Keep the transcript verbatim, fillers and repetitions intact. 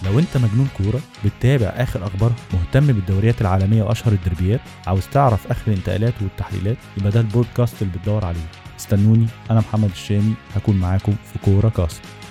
لو انت مجنون كورة بتتابع اخر اخبارها، مهتم بالدوريات العالمية واشهر الدربيات، عاوز تعرف اخر الانتقالات والتحليلات، يبقى ده البودكاست اللي بتدور عليه. استنوني، انا محمد الشامي هكون معاكم في كورة كاست.